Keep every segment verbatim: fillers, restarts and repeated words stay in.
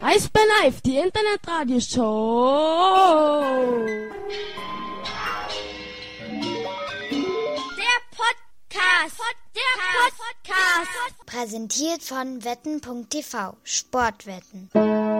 Eisbär Live, die Internetradioshow. Der Podcast. Der Podcast. Präsentiert von wetten punkt t v. Sportwetten.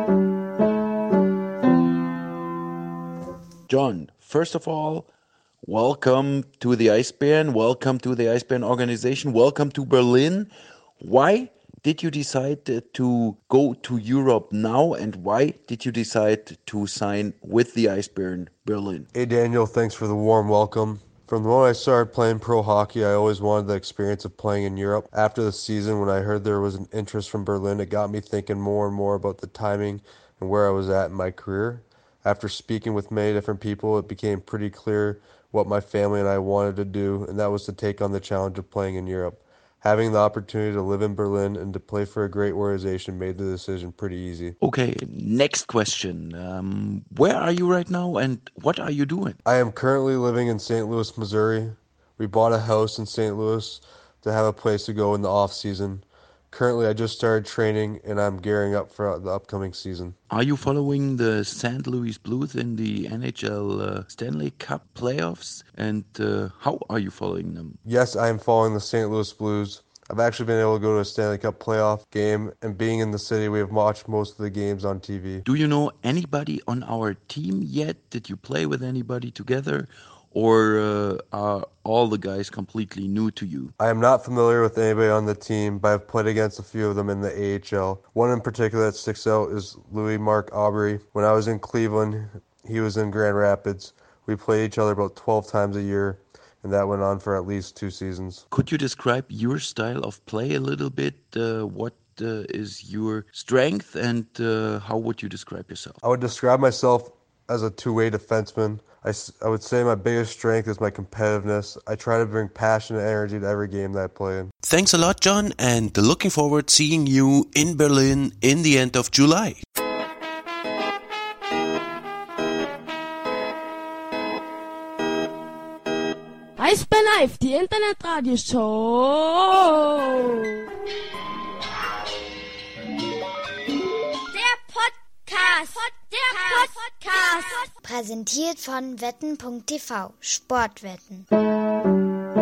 John, first of all, welcome to the Eisbären. Welcome to the Eisbären organization. Welcome to Berlin. Why did you decide to go to Europe now, and why did you decide to sign with the Eisbären Berlin? Hey Daniel, thanks for the warm welcome. From the moment I started playing pro hockey, I always wanted the experience of playing in Europe. After the season, when I heard there was an interest from Berlin, it got me thinking more and more about the timing and where I was at in my career. After speaking with many different people, it became pretty clear what my family and I wanted to do, and that was to take on the challenge of playing in Europe. Having the opportunity to live in Berlin and to play for a great organization made the decision pretty easy. Okay, next question. Um, where are you right now, and what are you doing? I am currently living in Saint Louis, Missouri. We bought a house in Saint Louis to have a place to go in the off season. Currently, I just started training, and I'm gearing up for the upcoming season. Are you following the Saint Louis Blues in the N H L uh, Stanley Cup playoffs? And uh, how are you following them? Yes, I am following the Saint Louis Blues. I've actually been able to go to a Stanley Cup playoff game, and being in the city, we have watched most of the games on T V. Do you know anybody on our team yet? Did you play with anybody together? Or uh, are all the guys completely new to you? I am not familiar with anybody on the team, but I've played against a few of them in the A H L. One in particular that sticks out is Louis Mark Aubry. When I was in Cleveland, he was in Grand Rapids. We played each other about twelve times a year, and that went on for at least two seasons. Could you describe your style of play a little bit? Uh, what uh, is your strength, and uh, how would you describe yourself? I would describe myself as a two-way defenseman. I, I would say my biggest strength is my competitiveness. I try to bring passion and energy to every game that I play in. Thanks a lot, John, and looking forward seeing you in Berlin in the end of July. Eisbär Live, die Internetradioshow. Der Podcast. Der Podcast. Präsentiert von wetten punkt t v. Sportwetten.